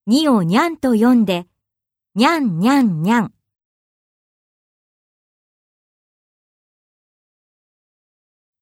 2をにゃんと読んで、にゃんにゃんにゃん。